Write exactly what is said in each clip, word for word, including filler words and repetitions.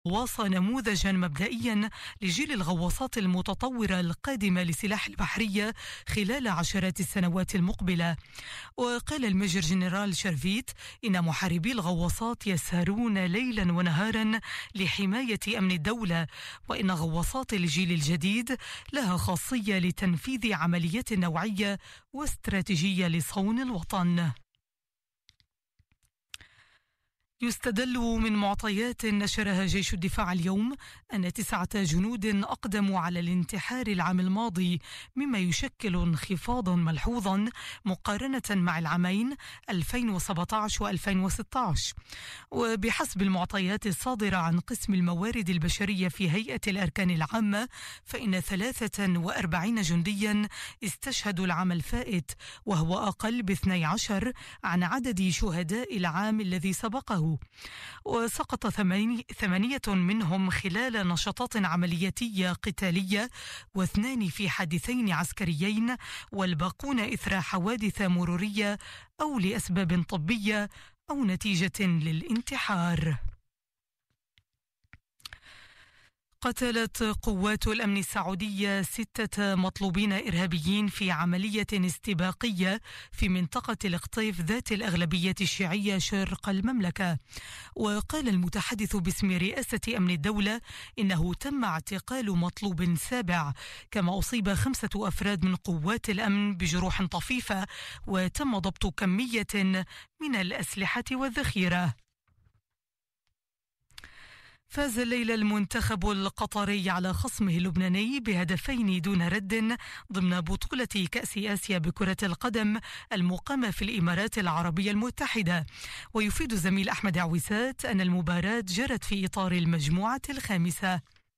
غواصة نموذجا مبدئيا لجيل الغواصات المتطورة القادمة لسلاح البحرية خلال عشرات السنوات المقبلة. وقال الميجر جنرال شرفيت إن محاربي الغواصات يسهرون ليلا ونهارا لحماية أمن الدولة، وإن غواصات الجيل الجديد لها خاصية لتنفيذ عمليات نوعية واستراتيجية لصون الوطن. يستدل من معطيات نشرها جيش الدفاع اليوم أن تسعة جنود أقدموا على الانتحار العام الماضي، مما يشكل انخفاضا ملحوظا مقارنة مع العامين ألفين وسبعة عشر وألفين وستة عشر. وبحسب المعطيات الصادرة عن قسم الموارد البشرية في هيئة الأركان العامة، فإن ثلاثة وأربعين جنديا استشهدوا العام الفائت، وهو أقل باثني عشر عن عدد شهداء العام الذي سبقه. وسقط ثمانية منهم خلال نشاطات عملياتية قتالية، واثنان في حادثين عسكريين، والباقون إثر حوادث مرورية أو لأسباب طبية أو نتيجة للانتحار. قتلت قوات الأمن السعودية ستة مطلوبين إرهابيين في عملية استباقية في منطقة القطيف ذات الأغلبية الشيعية شرق المملكة. وقال المتحدث باسم رئاسة أمن الدولة إنه تم اعتقال مطلوب سابع، كما أصيب خمسة أفراد من قوات الأمن بجروح طفيفة، وتم ضبط كمية من الأسلحة والذخيرة. فاز الليلة المنتخب القطري على خصمه اللبناني بهدفين دون رد ضمن بطولة كأس آسيا بكرة القدم المقامة في الإمارات العربية المتحدة. ويفيد زميل أحمد عويسات أن المباراة جرت في إطار المجموعة الخامسة.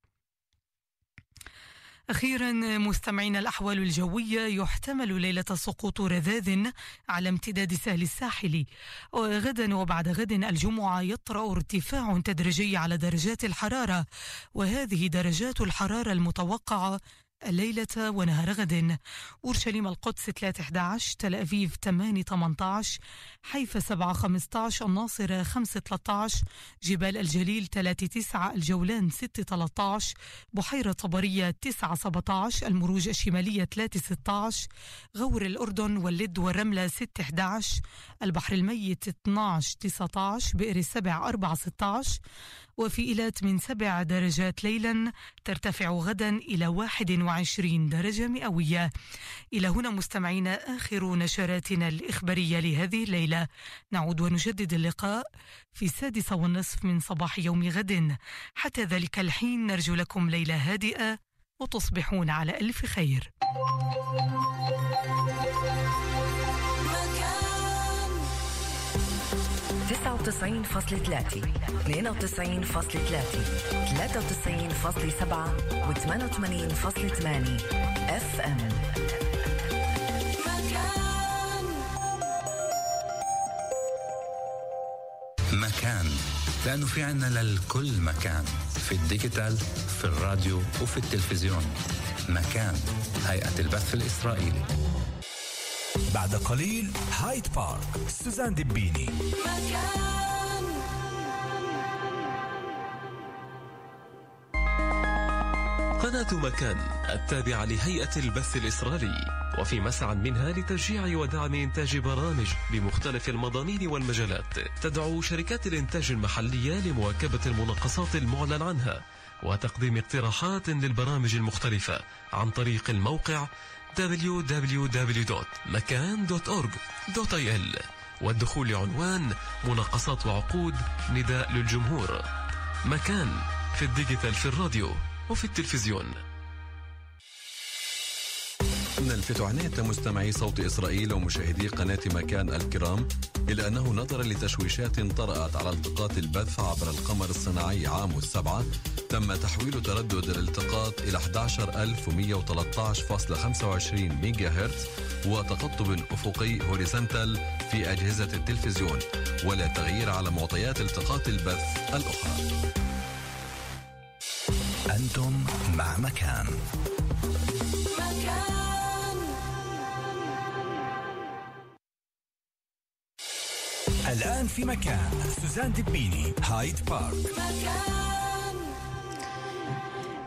أخيرا مستمعين، الأحوال الجوية يحتمل ليلة سقوط رذاذ على امتداد سهل الساحل، وغدا وبعد غد الجمعة يطرأ ارتفاع تدريجي على درجات الحرارة، وهذه درجات الحرارة المتوقعة الليلة ونهار غد: أورشليم القدس ثلاثة أحد عشر، تل أبيب ثمانية ثمانية عشر، حيفا سبعة خمسة عشر، الناصرة خمسة ثلاثة عشر، جبال الجليل ثلاثة تسعة، الجولان ستة ثلاثة عشر، بحيرة طبرية تسعة سبعة عشر، المروج الشمالية ثلاثة ستة عشر، غور الأردن واللد والرملة ستة أحد عشر، البحر الميت اثني عشر تسعة عشر، بئر السبع أربعة ستة عشر، وفي إيلات من سبع درجات ليلا ترتفع غدا إلى واحد وعشرين درجة مئوية. إلى هنا مستمعينا آخر نشراتنا الإخبارية لهذه الليلة. نعود ونجدد اللقاء في السادسة والنصف من صباح يوم غد. حتى ذلك الحين نرجو لكم ليلة هادئة وتصبحون على ألف خير. تسعة وتسعين فاصلة ثلاثة، اثنين وتسعين فاصلة ثلاثة، ثلاثة وتسعين فاصلة سبعة وثمانية وثمانين فاصلة ثمانية اف ام. مكان، لأنه في عنا للكل مكان، في الديجيتال، في الراديو وفي التلفزيون. مكان، هيئة البث الإسرائيلي. بعد قليل هايد بارك، سوزان دبيني. مكان. قناة مكان التابعة لهيئة البث الإسرائيلي، وفي مسعى منها لتشجيع ودعم إنتاج برامج بمختلف المضامين والمجالات. تدعو شركات الإنتاج المحلية لمواكبة المناقصات المعلن عنها وتقديم اقتراحات للبرامج المختلفة عن طريق الموقع دبليو دبليو دبليو دوت مكان دوت أورج دوت إيه إل، والدخول لعنوان مناقصات وعقود نداء للجمهور. مكان، في الديجيتال، في الراديو وفي التلفزيون. نلفت عناية مستمعي صوت إسرائيل ومشاهدي قناة مكان الكرام إلى أنه نظرا لتشويشات طرأت على التقاط البث عبر القمر الصناعي عام السبعة، تم تحويل تردد الالتقاط إلى أحد عشر ألف ومئة وثلاثة عشر فاصلة خمسة وعشرين ميجا هرتز وتقطب أفقي هوريزونتال في أجهزة التلفزيون، ولا تغيير على معطيات التقاط البث الأخرى. أنتم مع مكان. مكان. الآن في مكان سوزان دبيني، هايد بارك. مكان.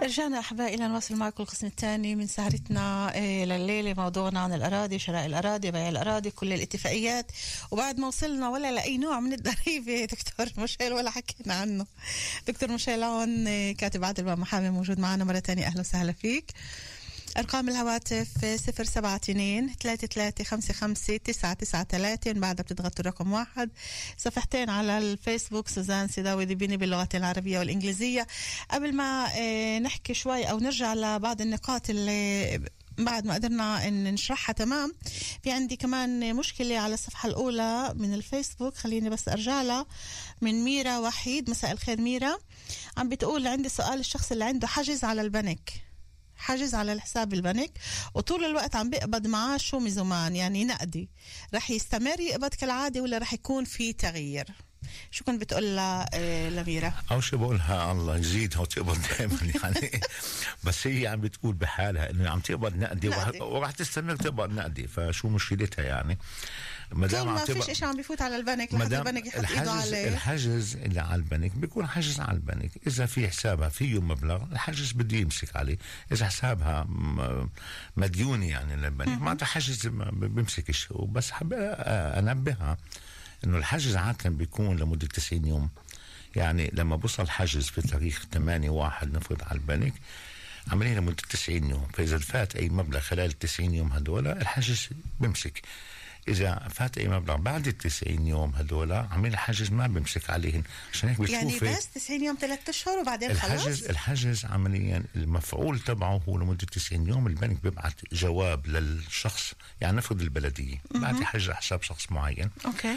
رجعنا أحبائي إلى نواصل معكم القسم الثاني من سهرتنا لليلة. موضوعنا عن الأراضي، شراء الأراضي، بيع الأراضي، كل الاتفاقيات. وبعد ما وصلنا ولا لأي نوع من الضريبة دكتور مشيل ولا حكينا عنه. دكتور مشيل عون كاتب عادل محامي موجود معنا مرة تانية. أهلا وسهلا فيك. أرقام الهواتف صفر سبعة اثنين ثلاثة ثلاثة خمسة خمسة تسعة تسعة ثلاثة، بعدها بتضغطوا الرقم واحد. صفحتين على الفيسبوك سوزان سيداوي دبيني باللغة العربية والإنجليزية. قبل ما نحكي شوي أو نرجع لبعض النقاط اللي بعد ما قدرنا إن نشرحها تمام، في عندي كمان مشكلة على الصفحة الأولى من الفيسبوك، خليني بس أرجع لها. من ميرا وحيد، مساء الخير ميرا. عم بتقول عندي سؤال، الشخص اللي عنده حجز على البنك، حجز على الحساب البنك وطول الوقت عم بيقبض معاشه مزومان يعني نقدي، رح يستمر يقبض كالعادة ولا رح يكون في تغيير؟ شو كنت بتقول لها لميرا؟ أول شيء بقولها الله يزيدها وتقبض دائما يعني بس هي عم بتقول بحالها إنه عم تقبض نقدي, نقدي. ورح تستمر تقبض نقدي، فشو مشكلتها يعني؟ طول ما فيش إشي عم بيفوت على البنك لحد البنك يحط إيده عليه. الحجز اللي على البنك بيكون حجز على البنك، إذا في حسابها فيه مبلغ الحجز بده يمسك عليه، إذا حسابها مديوني يعني للبنك ما حجز بيمسكش. وبس حابة أنبهها إنه الحجز عادة بيكون لمدة تسعين يوم، يعني لما بوصل الحجز في تاريخ ثمانية واحد نفرض على البنك عملية لمدة تسعين يوم، فإذا فات أي مبلغ خلال التسعين يوم هدول الحجز بيمسك. إذا فات أي مبلغ بعد التسعين يوم هدول عميل الحجز ما بيمسك عليهن. عشان هيك بتشوفي يعني بس تسعين يوم ثلاثة أشهر وبعدين الحجز خلاص. الحجز عمليا المفعول تبعه هو لمدة تسعين يوم. البنك بيبعت جواب للشخص، يعني نفرض البلدية بعد حجز حساب شخص معين. أوكي.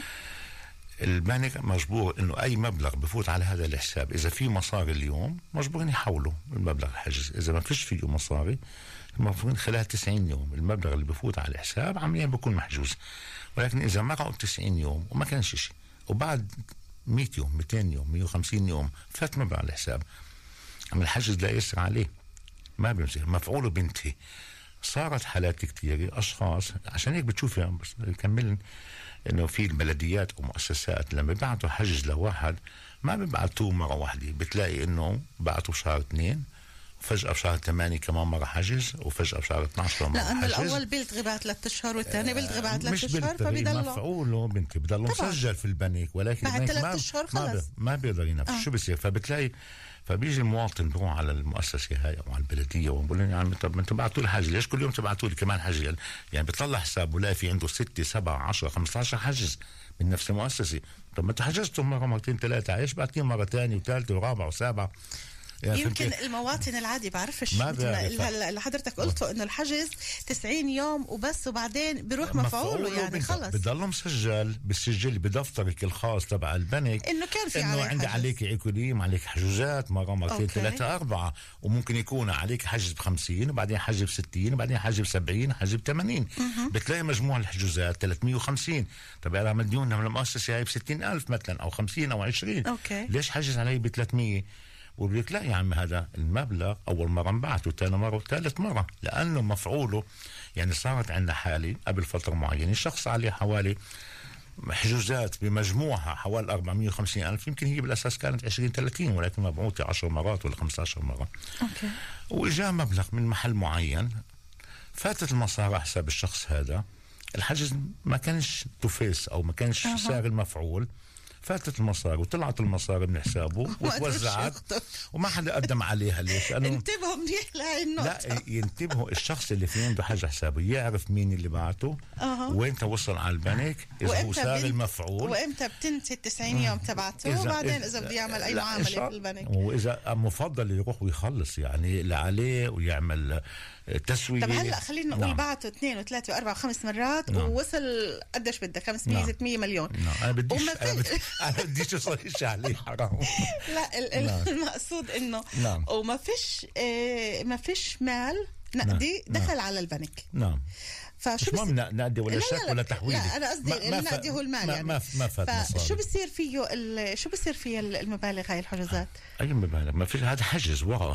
البنك مجبور انه اي مبلغ بفوت على هذا الحساب اذا في مصاري اليوم مجبورين يحولوا المبلغ الحجز، اذا ما فيش فيه مصاري المفروض خلال تسعين يوم المبلغ اللي بفوت على الحساب عمليا بيكون محجوز. ولكن اذا مرقوا تسعين يوم وما كانش شيء وبعد مية يوم مئتين يوم مية وخمسين يوم فات مبلغ على الحساب، عم الحجز لا يسر عليه ما بيمسك، مفعوله بينتهي. صارت حالات كتير اشخاص، عشان هيك بتشوفي بس كمل انه في البلديات او مؤسسات لما بيبعتوا حجز لواحد ما بيبعتوه مره واحده، بتلاقي انه بعتوا شهر اثنين وفجاه بشهر ثمانية كمان مره حجز وفجاه بشهر اثني عشر مره لانه حجز. الاول بيلتغي بعد ثلاث اشهر والثاني بيلتغي بعد ثلاث اشهر، فبيضل مفعوله بنتي بضل مسجل في البنك، ولكن بعد ثلاث اشهر خلص ما بيقدر ينفذ. آه. شو بصير؟ فبتلاقي فبيجي المواطن بروح على المؤسسه هاي او على البلديه وبقول لهم يعني طب انتم بعتوا لي حجز، ليش كل يوم تبعتوا لي كمان حجز؟ يعني بيطلع حساب ولا في عنده ستة سبعة عشرة خمسة عشر حجز من نفس المؤسسه. طب ما انتم حجزتم مره مرتين ثلاثه، ايش بعتين مره ثانيه وثالثه ورابعه وسابعه؟ يعني يمكن المواطن العادي بعرفش اللي حضرتك قلته انه الحجز تسعين يوم وبس وبعدين بيروح مفعوله، يعني خلص بضل مسجل بالسجل بدفترك الخاص تبع البنك انه كان في انه عندي عليك عقوديم عليك حجوزات مره مرتين ثلاثه اربعه، وممكن يكون عليك حجز بخمسين وبعدين حجز بستين وبعدين حجز بسبعين حجز بثمانين، بتلاقي مجموع الحجوزات ثلاثمية وخمسين. طب انا مديونها من المؤسسه هاي بستين ألف مثلا او خمسين او عشرين، أوكي. ليش حجز علي بثلاثمية؟ بقول لك لا يا عم هذا المبلغ اول مره انبعته ثاني مره وثالث مره لانه مفعوله. يعني صارت عندنا حاله قبل فتره معينه الشخص عليه حوالي حجوزات بمجموعها حوالي أربعمية وخمسين ألف، يمكن هي بالاساس كانت عشرين ثلاثين ولكن مبعوثه عشر مرات ولا خمسة عشر مره. اوكي. واجا مبلغ من محل معين فاتت المصاري حساب الشخص هذا، الحجز ما كانش توفيس او ما كانش أه. سعر المفعول، فاتت المصاري وطلعت المصاري من حسابه وتوزعت وما حدا قدم عليها. ليش؟ لأنه انتبهوا منيح لهي النقطة. لا ينتبهوا الشخص اللي في عنده حاجة حسابه يعرف مين اللي بعته أه. وين وصل على البنك إذا هو صار المفعول وإمتى بتنتهي التسعين يوم تبعته وبعدين إذا بده يعمل أي معاملة في البنك. وإذا مفضل يروح ويخلص يعني اللي عليه ويعمل تسوية. طب هلا خلينا نقول نعم. بعته اثنين وثلاثة وأربعة وخمس مرات نعم. ووصل قديش بدك خمسمية نعم. ستمية مليون نعم. أنا بديش أنا, بدي... أنا بديش أصيش عليه حرام. لا ال... نعم. المقصود إنه نعم. وما فيش إيه ما فيش مال نقدي نعم. دخل نعم. على البنك. نعم. فشو بس ما نقدي ولا شك ولا تحويل. لا أنا قصدي النقدي هو المال ما يعني. ما ما فات شو بصير فيه ال... شو بصير فيه المبالغ هاي الحجوزات؟ أي مبالغ؟ ما فيش، هذا حجز ورقة.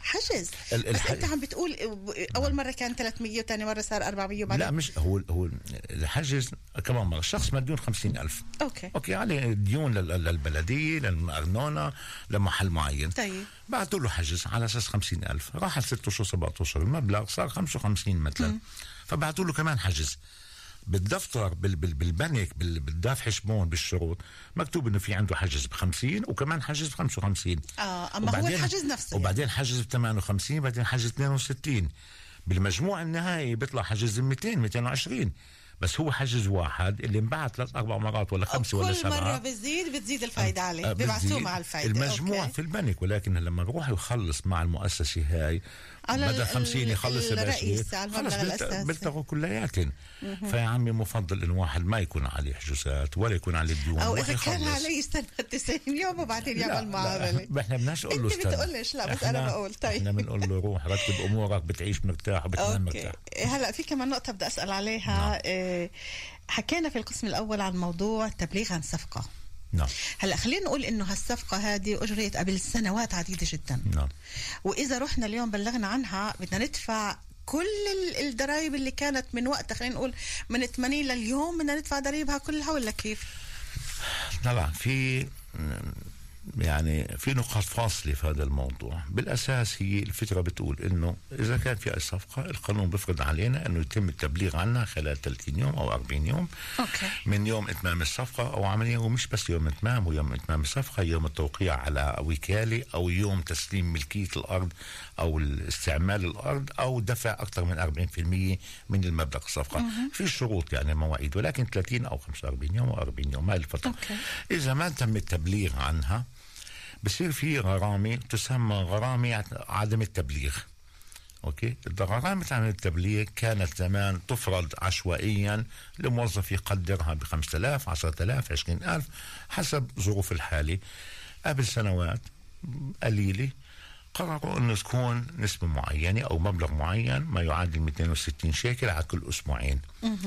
حجز. ال- بس الح- انت عم بتقول اول مره كان ثلاثمية وثاني مره صار أربعمية وبعدين لا مش هو هو الحجز كمان مرة الشخص مديون خمسين ألف اوكي اوكي عليه ديون لل- للبلديه للأرنونة لمحل معين. طيب بعثوا له حجز على اساس خمسين ألف، راح على ست اشهر سبعة اشهر المبلغ صار خمسة وخمسين مثلا، فبعثوا له كمان حجز بالدفتر بال بال بالبنك بال بالدافع شمون بالشروط مكتوب انه في عنده حجز ب خمسين وكمان حجز ب خمسة وخمسين. اه اما هو الحجز نفسه وبعدين يعني. حجز ب ثمانية وخمسين بعدين حجز اثنين وستين، بالمجموع النهائي بيطلع حجز مئتين مئتين وعشرين، بس هو حجز واحد اللي انبعث ثلاث اربع مرات ولا خمسه ولا سبعه، كل مره بتزيد بتزيد الفائده عليه، بيبعثوه مع الفائده المجموع أوكي. في البنك، ولكن لما بروح يخلص مع المؤسسه هاي بدل خمسين يخلص الرئيس على المبلغ الاساسي بيلتغوا كلياتهم. فيا عمي مفضل انه واحد ما يكون عليه حجوزات ولا يكون عليه ديون، او اذا كان عليه يستنى تسعين يوم وبعدين يعمل معامله. احنا بدناش نقول له انت بتقولش لا بس انا بقول طيب احنا بنقول له روح رتب امورك بتعيش مرتاح وبتنام مرتاح. هلا في كمان نقطه بدي اسال عليها. نعم. إيه حكينا في القسم الاول عن موضوع التبليغ عن صفقه. نعم. هلا خلينا نقول انه هالصفقه هذه اجريت قبل سنوات عديده جدا. نعم. واذا رحنا اليوم بلغنا عنها بدنا ندفع كل الضرائب اللي كانت من وقتها، خلينا نقول من ثمانين لليوم بدنا ندفع ضرائبها كلها ولا كيف؟ طبعا في يعني في نقاط فاصلة في هذا الموضوع. بالأساس هي الفكرة بتقول إنه إذا كان في أي صفقة القانون بيفرض علينا إنه يتم التبليغ عنها خلال ثلاثين يوم أو أربعين يوم أوكي. من يوم إتمام الصفقة أو عملية، ومش بس يوم إتمام ويوم إتمام الصفقة، يوم التوقيع على وكالة أو يوم تسليم ملكية الأرض أو استعمال الأرض أو دفع أكثر من أربعين بالمئة من المبلغ الصفقة. م- في شروط يعني مواعيد، ولكن ثلاثين أو خمسة وأربعين يوم أو أربعين يوم هاي الفترة. أوكي. إذا ما تم التبليغ عنها بصير في غرامة تسمى غرامة عدم التبليغ. أوكي، الغرامة عدم التبليغ كانت زمان تفرض عشوائيا لموظف يقدرها بخمسة آلاف عشرة آلاف عشرين ألف حسب ظروف الحالة. قبل سنوات قليلة قرروا أنه تكون نسبة معينة أو مبلغ معين ما يعادل مئتين وستين شيكل على كل أسبوعين.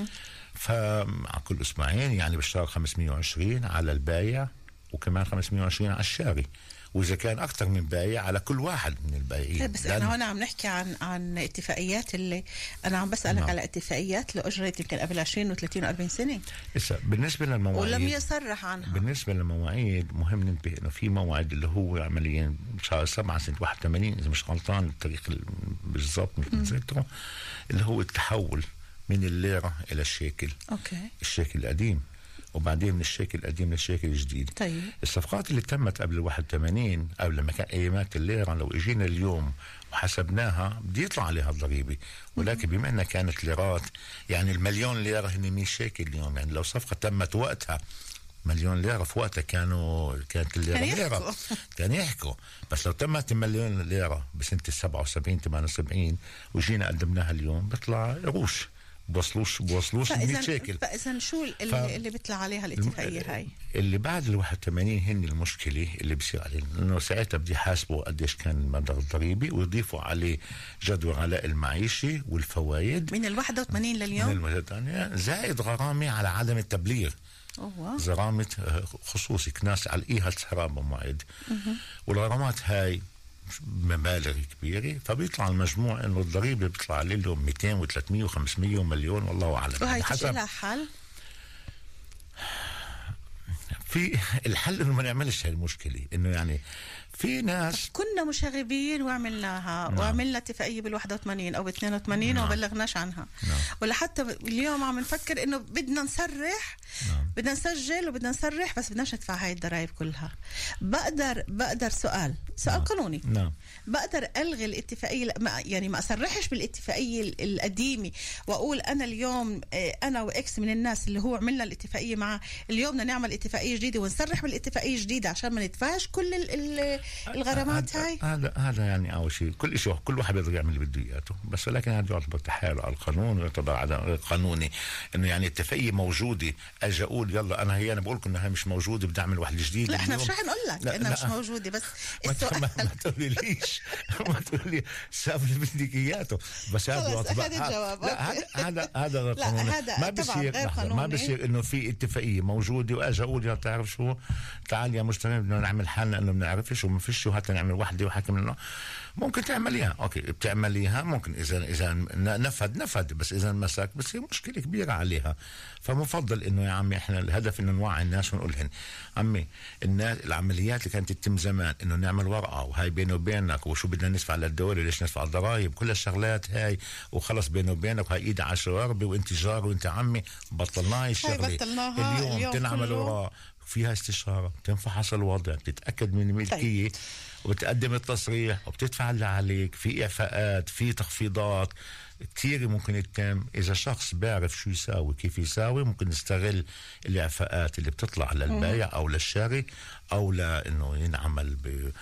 فعلى كل أسبوعين يعني بالشهر خمسمئة وعشرين على البايع وكمان خمسمئة وعشرين على الشاري، وإذا كان أكثر من بايع على كل واحد من البائعين. بس احنا هنا عم نحكي عن عن اتفاقيات اللي أنا عم بسألك نعم. على اتفاقيات اللي أجرت يمكن قبل عشرين وثلاثين وأربعين سنة. إسا بالنسبة للمواعيد ولم يصرح عنها. بالنسبة للمواعيد مهم ننتبه إنه في موعد اللي هو عمليا شهر سبعة سنة واحد وثمانين إذا مش غلطان التاريخ بالضبط مش متذكره، اللي هو التحول من الليرة إلى الشيكل. أوكي. الشيكل القديم وبعدين من الشيكل القديم للشيكل الجديد. طيب. الصفقات اللي تمت قبل واحد وثمانين قبل ما كان ايامات الليره لو اجينا اليوم وحسبناها بدي يطلع عليها الضريبه، ولكن بما انها كانت ليرات يعني المليون ليره هن مية شيكل اليوم، يعني لو صفقه تمت وقتها مليون ليره في وقتها كانوا كانت الليره ليره كان يحكوا، بس لو تمت مليون ليره بسنه سبعة وسبعين ثمانية وسبعين وجينا قدمناها اليوم بيطلع قروش بوصلوش بوصلوش مية شيكل. فاذا شو اللي, ف... اللي بيطلع عليها الاتفاقيه هاي؟ اللي بعد ال واحد وثمانين هن المشكله اللي بصير عليه، لانه ساعتها بدي يحاسبوا قديش كان المبلغ الضريبي ويضيفوا عليه جدول علاء المعيشه والفوائد من ال واحد وثمانين لليوم من الوحدة زائد غرامه على عدم التبليغ. أوه. غرامه خصوصي كناس على الايها السراب موعد، والغرامات هاي مبالغ كبيرة، فبيطلع المجموع انه الضريبة بيطلع عليه اليوم مئتين وثلاثمئة وخمسمئة ومليون والله اعلم. وهي حسب لها حل؟ في الحل انه ما نعملش هاي المشكلة، انه يعني في ناس كنا مشاغبين وعملناها نعم. وعملنا اتفاقية بالواحد وثمانين او باثنين وثمانين نعم. وبلغناش عنها نعم. ولا حتى اليوم عم نفكر انه بدنا نصرح نعم. بدنا نسجل وبدنا نصرح بس بدناش ندفع هاي الضرائب كلها. بقدر بقدر سؤال سؤال نعم. قانوني نعم. بقدر الغي الاتفاقية يعني ما اصرحش بالاتفاقية القديمة واقول انا اليوم انا واكس من الناس اللي هو عملنا الاتفاقية معه اليوم بدنا نعمل اتفاقية جديدة ونصرح بالاتفاقية الجديدة عشان ما ندفعش كل ال الغرامات هاي. هذا هذا يعني اول شيء كل شيء كل واحد بيقدر يعمل اللي بده اياه، بس ولكن هذا يعتبر تحايل على القانون ويعتبر عدم قانوني. انه يعني اتفاقيه موجوده اجي اقول يلا انا هي انا بقول لكم انها مش موجوده بدي اعمل واحد جديد. لا احنا مش رح نقول لك انها مش موجوده بس السؤال ما, ما تقولي ليش ما تقولي ساب اللي بدك اياته بس هذا يعتبر الجواب. لا هذا هذا قانوني ما بصير ما بصير انه في اتفاقيه موجوده واجي اقول يا تعرف شو تعال يا مجتمع بدنا نعمل حالنا انه ما بنعرفش وما فيش وحتى نعمل وحده وحكي منه ممكن تعمليها. اوكي بتعمليها ممكن اذا اذا نفد نفد، بس اذا مسك بس هي مشكله كبيره عليها. فمفضل انه يا عمي احنا الهدف انه نوعي الناس ونقول لهم عمي الناس العمليات اللي كانت تتم زمان انه نعمل ورقه وهي بيني وبينك وشو بدنا ندفع للدوله ليش ندفع الضرائب كل الشغلات هاي وخلص بيني وبينك وهي ايد عشرة وربي وانت جار وانت عمي بطلناها الشغله. اليوم, اليوم تنعمل وراء فيها استشاره، بتنفحص الوضع، بتتاكد من الملكيه، طيب. وبتقدم التصريح وبتدفع اللي عليك، في اعفاءات، في تخفيضات كثير ممكن يتم. اذا شخص بيعرف شو يساوي كيف يساوي ممكن يستغل الاعفاءات اللي بتطلع للبائع او للشاري او لانه ينعمل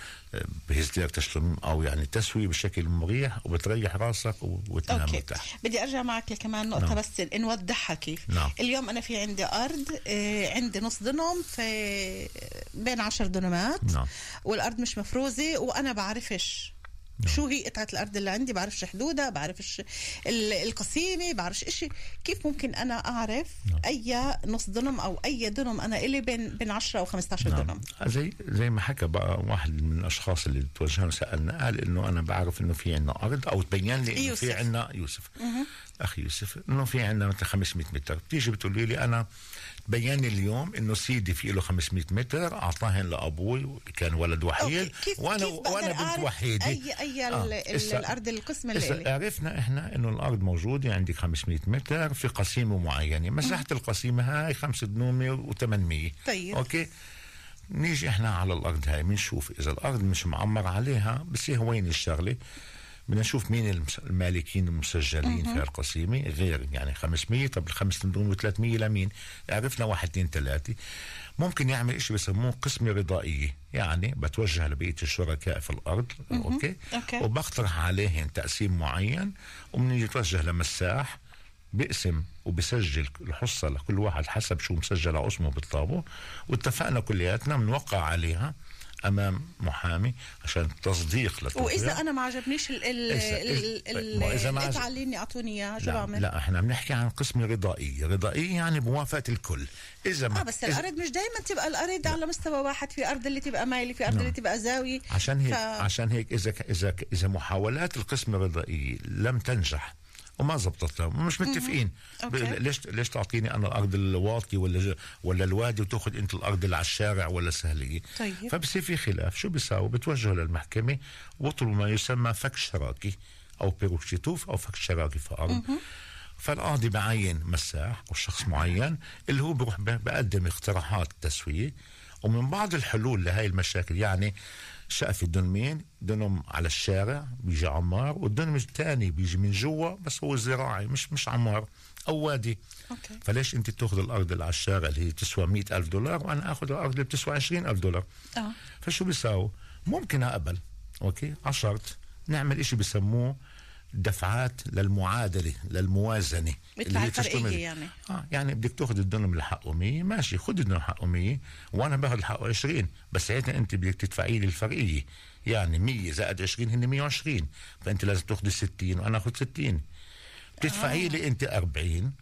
بهزدير تشلم او يعني تسوي بشكل مريح وبتريح راسك وتنام مرتاح. بدي ارجع معك لكمان نقطه نعم. بس نوضحها كيف. نعم. اليوم انا في عندي ارض آه عندي نص دنم في بين عشر دنمات نعم. والارض مش مفروزه وانا بعرفش نعم. شو هي قطعة الأرض اللي عندي، بعرفش حدودها، بعرفش القسيمة، بعرفش إشي. كيف ممكن أنا أعرف نعم. أي نص دنم أو أي دنم أنا إلي بين بين عشرة أو خمسة عشر نعم. دنم؟ زي زي ما حكى بقى واحد من الأشخاص اللي توجهنا سألنا قال إنه أنا بعرف إنه في عنا أرض أو تبين لي إنه في عنا يوسف مه. أخي يوسف إنه في عنا مثل خمسمية متر. بتيجي بتقولي لي أنا بياني اليوم انه سيدي في له خمسمية متر اعطاهن لابوي كان ولد وحيد وانا كيف وانا بنت وحيده. اي اي آه. الارض القسم اللي عرفنا احنا انه الارض موجوده عندك خمسمية متر في قسيمه معينه، مساحه القسيمه هاي خمسة دنومه وثمانمية. طيب اوكي نيجي احنا على الارض هاي بنشوف اذا الارض مش معمر عليها بس هي وين الشغله بدنا نشوف مين المالكين المسجلين في القسيمة غير يعني خمسمية. طب الخمسة دنوم وثلاثمية لمين؟ عرفنا واحد اثنين ثلاثة. ممكن يعمل إشي بسموه قسمة رضائية، يعني بتوجه لبقية الشركاء في الأرض أوكي؟ أوكي وبقترح عليهم تقسيم معين وبنيجي نتوجه لمساح بقسم وبسجل الحصة لكل واحد حسب شو مسجل على اسمه بالطابو، واتفقنا كلياتنا بنوقع عليها امام محامي عشان تصديق للتوقيع. واذا انا ما عجبنيش ال ال القطعه اللي اني اعطوني اياها شو بعمل؟ لا احنا بنحكي عن قسم رضائيه. رضائيه يعني بموافقه الكل. اذا اه بس إذا الارض مش دائما تبقى الارض على مستوى واحد، في ارض اللي تبقى مايله، في ارض نعم. اللي تبقى زاويه. عشان هيك ف... عشان هيك اذا اذا اذا محاولات القسم الرضائيه لم تنجح وما زبطت مش متفقين ليش ليش تعطيني انا الارض الواطي ولا ولا الوادي وتاخذ انت الارض اللي على الشارع ولا سهليه. طيب. فبصير في خلاف. شو بيساوي؟ بتوجهوا للمحكمه وطلبوا ما يسمى فك شراكي او بيروشيتوف او فك شراكي في ارض. فالقاضي بعين مساح والشخص معين اللي هو بيروح بقدم اقتراحات تسويه ومن بعض الحلول لهي المشاكل. يعني شقف الدنمين دنم على الشارع بيجي عمار والدنم الثاني بيجي من جوا بس هو زراعي مش مش عمار او وادي. أوكي. فليش انت تاخذ الارض اللي على الشارع اللي هي تسوى مئة ألف دولار وانا اخذ الارض اللي بتسوى عشرين ألف دولار؟ اه فشو بيساوي؟ ممكن اقبل اوكي عشرت نعمل اشي بسموه دفعات للمعادله للموازنه اللي هي تشتمل يعني اه يعني بدك تاخذ الدنم اللي حقه مية ماشي خذ الدنم حقه مية وانا باخذ حقه عشرين بس ساعتها انت بدك تدفعي لي الفرقيه يعني مية زائد عشرين هن مية وعشرين فانت لازم تاخذ ستين وانا اخذ ستين بتدفعي آه. لي انت أربعين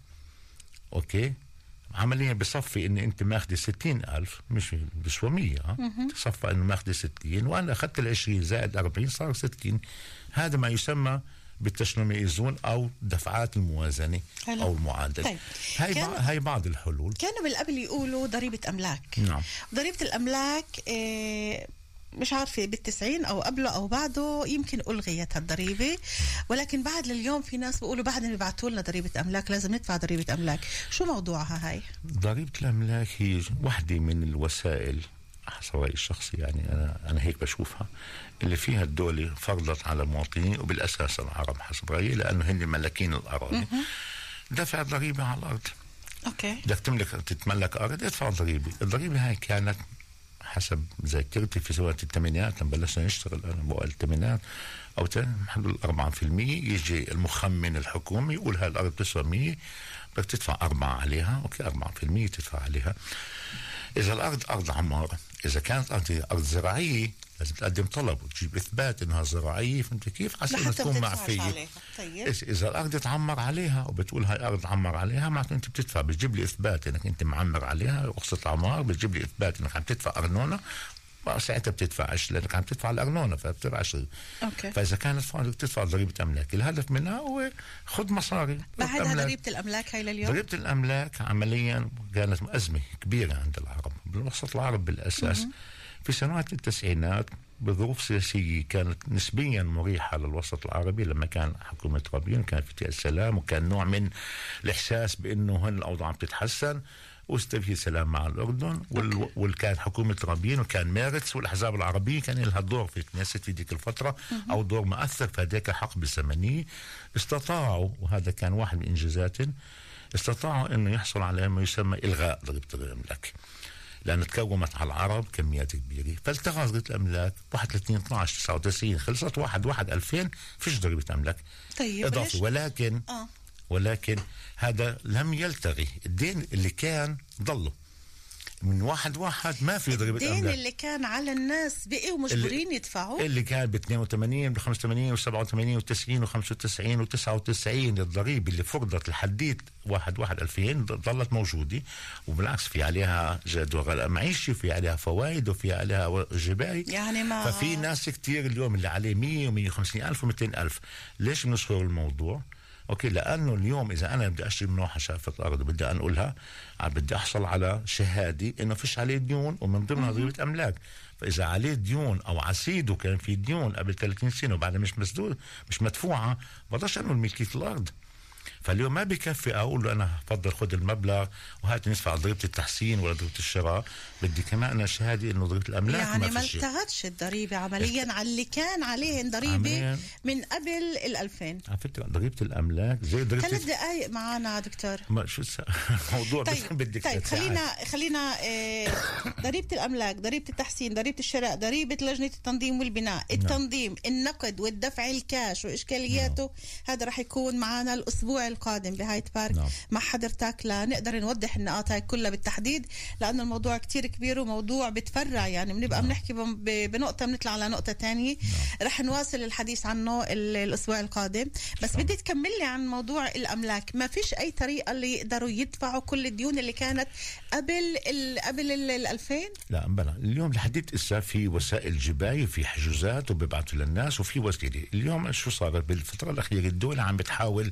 اوكي عمليا بصفي ان انت ماخذ ستين ألف مش بسوى مية تصفى انه ماخذ ستين وانا اخذت العشرين زائد أربعين صار ستين. هذا ما يسمى بالتشنميزون او دفعات الموازنه حلو. او المعادله. طيب. هاي كان... هاي بعض الحلول. كانوا بالقبل يقولوا ضريبه املاك. نعم. ضريبه الاملاك إيه مش عارفه بالتسعين او قبله او بعده يمكن الغيت هالضريبه، ولكن بعد لليوم في ناس بيقولوا بعدين بيبعتوا لنا ضريبه املاك لازم ندفع ضريبه املاك. شو موضوعها هاي؟ ضريبه الاملاك هي وحده من الوسائل حسب رأيي الشخصي يعني أنا أنا هيك بشوفها اللي فيها الدولة فرضت على المواطنين وبالأساس العرب حسب رأيي لأنه هن ملاكين الأراضي دفع ضريبة على الأرض. أوكي. بدك تملك تتملك أرض ادفع ضريبة. الضريبة هاي كانت حسب ذاكرتي في سنة الثمانينات لما بلشنا نشتغل أنا بقول الثمانينات أو حدود أربعة في المية يجي المخمن الحكومي يقول هاي الأرض تسوى مية بدك تدفع أربعة عليها أوكي أربعة في المية تدفع عليها. إذا الأرض أرض عمار إذا كانت أرض, أرض زراعية لازم تقدم طلب وتجيب إثبات إنها زراعية فهمت كيف عشان تكون معفية. طيب. إذا الأرض تعمر عليها وبتقول هاي أرض عمر عليها معناته أنت بتدفع بتجيب لي إثبات إنك أنت معمر عليها رخصة عمار بتجيب لي إثبات إنك عم تدفع أرنونة ساعتها بتدفعش لانك عم تدفع الارنونه فبتدفعش. اوكي. فاذا كانت فاضل تدفع ضريبه املاك، الهدف منها هو خذ مصاري. بعدها ضريبه الاملاك هاي لليوم؟ ضريبه الاملاك عمليا كانت ازمه كبيره عند العرب بالوسط العربي بالاساس. م- في سنوات التسعينات بظروف سياسية كانت نسبيا مريحة للوسط العربي لما كان حكومة رابين وكان في السلام وكان نوع من الإحساس بأنه هن الأوضاع بتتحسن واستفي سلام مع الأردن وال... والكانت حكومة رابين وكان مارتس والأحزاب العربية كان لها دور في الكنيست في ديك الفترة أو دور مؤثر في هذيك الحقبة الزمنية. استطاعوا وهذا كان واحد من إنجازاتهم استطاعوا أنه يحصل على ما يسمى إلغاء ضريبة الأملاك لأن تكومت على العرب كميات كبيرة فالتغى ضريبة الأملاك واحد وثلاثين اثناشر تسعة وتسعين خلصت واحد واحد ألفين فيش ضريبة أملاك طيب إضافي. ولكن آه. ولكن هذا لم يلتغي الدين اللي كان ضله من واحد واحد ما في ضريبة أملاك. الدين اللي كان على الناس بقي ومجبورين يدفعوا اللي كان ب اثنين وثمانين ب خمسة وثمانين و سبعة وثمانين و تسعين و خمسة وتسعين و تسعة وتسعين الضريبة اللي فرضت لحديت واحد واحد ألفين ظلت موجودة وبالعكس في عليها جدول معيشي وفي عليها فوائد وفي عليها جباي يعني ما ففي ناس كتير اليوم اللي عليه مية ومية وخمسين ألف ومئتين ألف. ليش بنشهر الموضوع؟ اوكي لانه اليوم اذا انا بدي اشتري من واحد شافه الارض بدي انقلها بدي احصل على شهاده انه فيش عليه ديون ومن ضمنها ضريبه املاك. فاذا عليه ديون او عسيده كان في ديون قبل ثلاثين سنه وبعدها مش مسدود مش مدفوعه بقدرش انقل ملكيه الارض. فاليوم ما بكفي اقول له انا بفضل خذ المبلغ وهات ندفع ضريبه التحسين ولا ضريبه الشراء بدي كمان انا شهاده انه ضريبه الاملاك يعني ما ما فيش. التغتش الضريبه عمليا على اللي كان عليهن ضريبه من قبل الألفين. على فكره ضريبه الاملاك زي ضريبه ثلاث دقائق معنا دكتور. ما شو الموضوع طيب بدك طيب خلينا خلينا اه ضريبه الاملاك ضريبه التحسين ضريبه الشراء ضريبه لجنه التنظيم والبناء التنظيم النقد والدفع الكاش واشكالياته هذا راح يكون معنا الاسبوع القادم بهايت بارك نعم. مع حضرتك لنقدر نوضح النقاط هاي كلها بالتحديد لأن الموضوع كتير كبير وموضوع بتفرع يعني بنبقى بنحكي بنقطة بنطلع على نقطة تانية. رح نواصل الحديث عنه الأسبوع القادم بس بدي تكمل لي عن موضوع الأملاك. ما فيش أي طريقة اللي يقدروا يدفعوا كل الديون اللي كانت قبل ال قبل ال ألفين؟ لا بلا اليوم لحديت إسا في وسائل جباية وفي حجوزات وبيبعتوا للناس وفي وسيلة. اليوم شو صار بالفترة الأخيرة الدولة عم بتحاول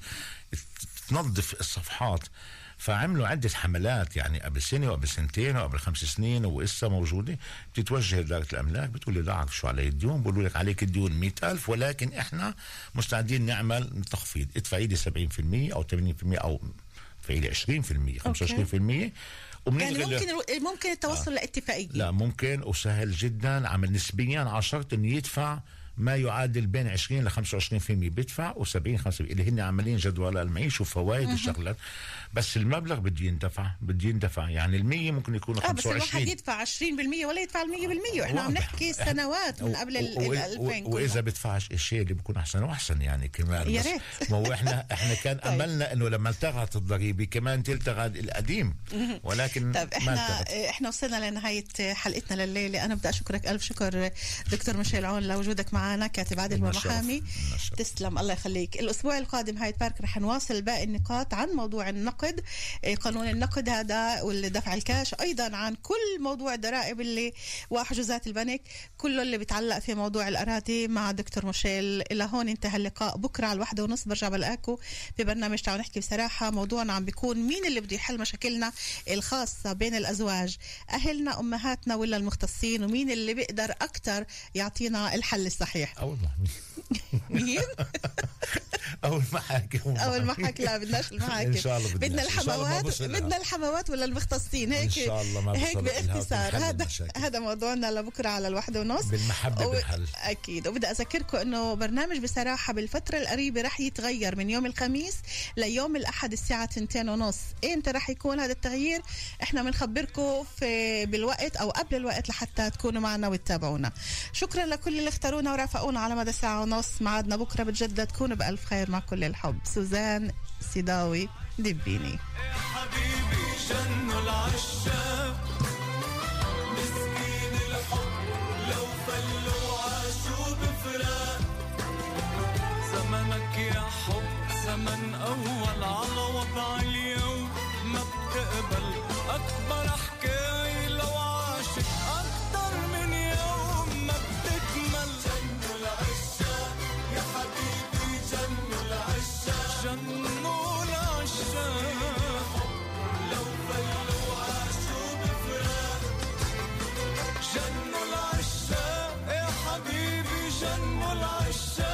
تنظف الصفحات فعملوا عدة حملات يعني قبل سنة وقبل سنتين وقبل خمس سنين وإسا موجودة. بتتوجه لإدارة الأملاك بتقول لي لا أعرف شو علي الديون بقولوا لك عليك الديون مئة ألف ولكن إحنا مستعدين نعمل تخفيض ادفعي لي سبعين بالمئة أو ثمانين بالمئة أو ادفعي لي عشرين بالمئة خمسة وعشرين بالمئة. يعني ممكن ممكن التوصل آه. لاتفاقية؟ لا ممكن وسهل جدا عمل نسبيا على شرط إنه يدفع ما يعادل بين عشرين ل خمسة وعشرين بالمئة بيدفع وسبعين خمسة اللي هن عاملين جدول المعيش وفوائد الشغلات بس المبلغ بده يندفع بده يندفع يعني المية ممكن يكون آه خمسة وعشرين. بس الواحد يدفع عشرين بالمية ولا يدفع المية بالمية واحنا عم نحكي سنوات من قبل الألفين. وإذا بدفعش الشيء اللي بيكون أحسن وأحسن يعني كمان يا ريت. ما هو إحنا إحنا كان طيب. أملنا إنه لما التغت الضريبة كمان تلتغى القديم ولكن طيب إحنا إحنا وصلنا لنهاية حلقتنا لليلة. أنا بدي أشكرك ألف شكر دكتور ميشيل عون لوجودك معنا كاتب عادل ومحامي. تسلم الله يخليك. الأسبوع القادم هايت بارك رح نواصل باقي النقاط عن موضوع النقد قانون النقد هذا والدفع الكاش أيضا عن كل موضوع الضرائب اللي وحجوزات البنك كله اللي بيتعلق في موضوع الأراضي مع دكتور ميشيل. إلى هون انتهى اللقاء. بكرة على الواحدة ونص برجع بلاقاكم ببرنامج تعالوا نحكي بصراحة. موضوعنا عم بيكون مين اللي بده يحل مشاكلنا الخاصة بين الأزواج أهلنا أمهاتنا ولا المختصين ومين اللي بيقدر أكتر يعطينا الحل الصحيح. أول مين؟ أول محاكم أول محاكم لا بدناش المحاكم إن شاء الله بدنا الحموات بدنا الحموات ولا المختصين هيك إن شاء الله ما هيك باختصار. هذا هذا موضوعنا لبكرة على الواحدة ونص بالمحبة و... بالحل. أكيد. وبدي أذكركم إنه برنامج بصراحة بالفترة القريبة رح يتغير من يوم الخميس ليوم الأحد الساعة تنتين ونص. إمتى رح يكون هذا التغيير إحنا بنخبركم في بالوقت أو قبل الوقت لحتى تكونوا معنا وتتابعونا. شكرا لكل اللي اختارونا ورافقونا على مدى ساعة ونص. معادنا بكرة بتجدد. تكونوا بألف خير مع كل الحب. سوزان سيداوي دبيني. حبيبي جنوا العشاق مسكين الحب لو فلوا عاشوا بفراق زمنك يا حب زمن أول على وضع اليوم ما بتقبل أكبر حكاية لو عاشت أكتر من يوم الشام